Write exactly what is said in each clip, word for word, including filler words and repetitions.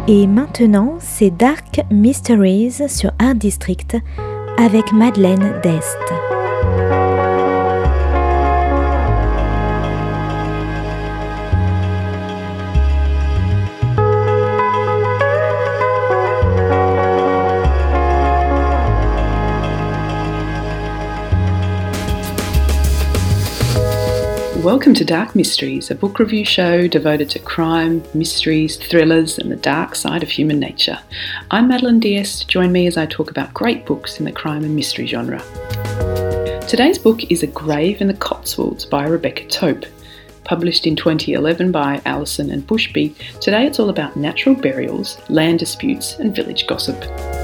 Et maintenant, c'est Dark Mysteries sur Art District avec Madeleine Dest. Welcome to Dark Mysteries, a book review show devoted to crime, mysteries, thrillers, and the dark side of human nature. I'm Madeleine D'Este. Join me as I talk about great books in the crime and mystery genre. Today's book is A Grave in the Cotswolds by Rebecca Tope. Published in twenty eleven by Allison and Bushby, today it's all about natural burials, land disputes, and village gossip.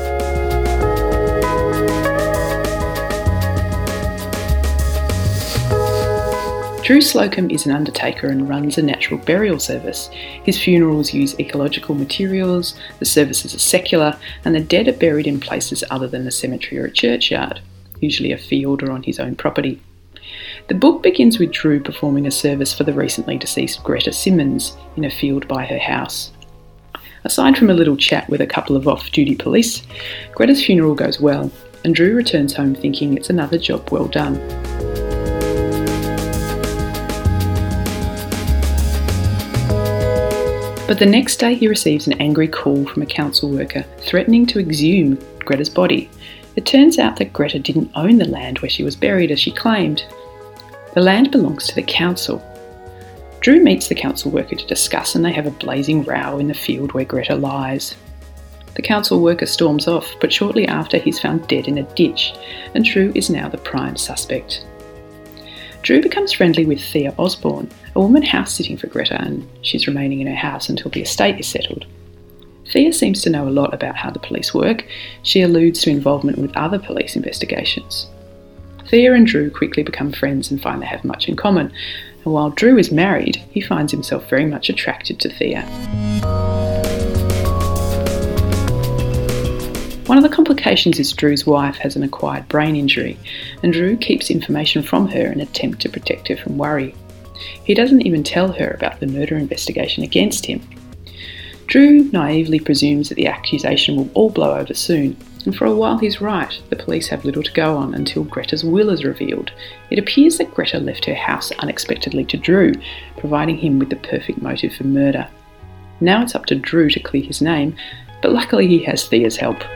Drew Slocum is an undertaker and runs a natural burial service. His funerals use ecological materials, the services are secular, and the dead are buried in places other than a cemetery or a churchyard, usually a field or on his own property. The book begins with Drew performing a service for the recently deceased Greta Simmons in a field by her house. Aside from a little chat with a couple of off-duty police, Greta's funeral goes well, and Drew returns home thinking it's another job well done. But the next day he receives an angry call from a council worker threatening to exhume Greta's body. It turns out that Greta didn't own the land where she was buried as she claimed. The land belongs to the council. Drew meets the council worker to discuss and they have a blazing row in the field where Greta lies. The council worker storms off, but shortly after he's found dead in a ditch, and Drew is now the prime suspect. Drew becomes friendly with Thea Osborne, a woman house-sitting for Greta, and she's remaining in her house until the estate is settled. Thea seems to know a lot about how the police work. She alludes to involvement with other police investigations. Thea and Drew quickly become friends and find they have much in common, and while Drew is married, he finds himself very much attracted to Thea. One of the complications is Drew's wife has an acquired brain injury, and Drew keeps information from her in an attempt to protect her from worry. He doesn't even tell her about the murder investigation against him. Drew naively presumes that the accusation will all blow over soon, and for a while he's right. The police have little to go on until Greta's will is revealed. It appears that Greta left her house unexpectedly to Drew, providing him with the perfect motive for murder. Now it's up to Drew to clear his name, but luckily he has Thea's help.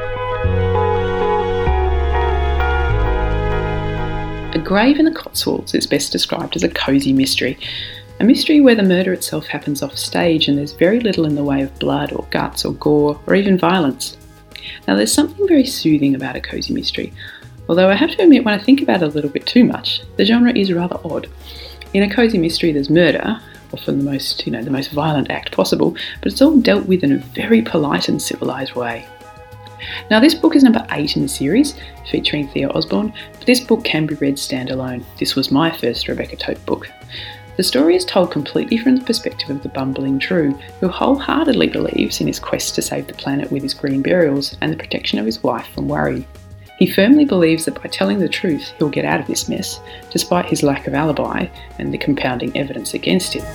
A Grave in the Cotswolds is best described as a cosy mystery. A mystery where the murder itself happens off stage and there's very little in the way of blood or guts or gore or even violence. Now there's something very soothing about a cosy mystery, although I have to admit when I think about it a little bit too much, the genre is rather odd. In a cosy mystery there's murder, often the most, you know, the most violent act possible, but it's all dealt with in a very polite and civilised way. Now this book is number eight in the series, featuring Thea Osborne, but this book can be read standalone. This was my first Rebecca Tope book. The story is told completely from the perspective of the bumbling Drew, who wholeheartedly believes in his quest to save the planet with his green burials and the protection of his wife from worry. He firmly believes that by telling the truth he'll get out of this mess, despite his lack of alibi and the compounding evidence against him.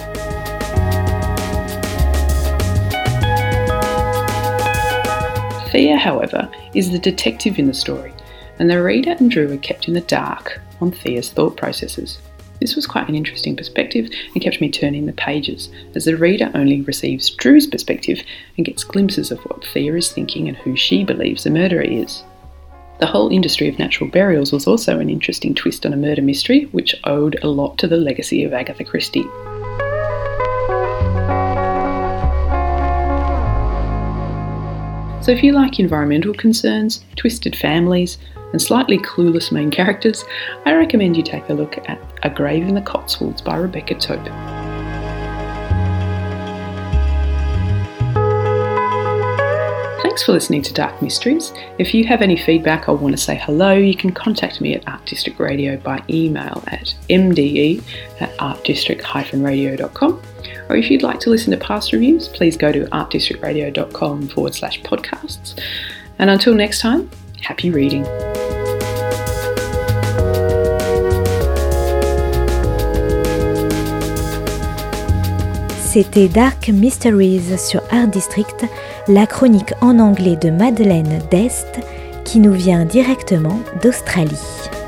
Thea, however, is the detective in the story, and the reader and Drew are kept in the dark on Thea's thought processes. This was quite an interesting perspective and kept me turning the pages, as the reader only receives Drew's perspective and gets glimpses of what Thea is thinking and who she believes the murderer is. The whole industry of natural burials was also an interesting twist on a murder mystery, which owed a lot to the legacy of Agatha Christie. So if you like environmental concerns, twisted families, and slightly clueless main characters, I recommend you take a look at A Grave in the Cotswolds by Rebecca Tope. Thanks for listening to Dark Mysteries. If you have any feedback or want to say hello, you can contact me at Art District Radio by email at m d e at art district dash radio dot com. Or if you'd like to listen to past reviews, please go to artdistrictradio.com forward slash podcasts. And until next time, happy reading. C'était Dark Mysteries sur Art District, la chronique en anglais de Madeleine Dest qui nous vient directement d'Australie.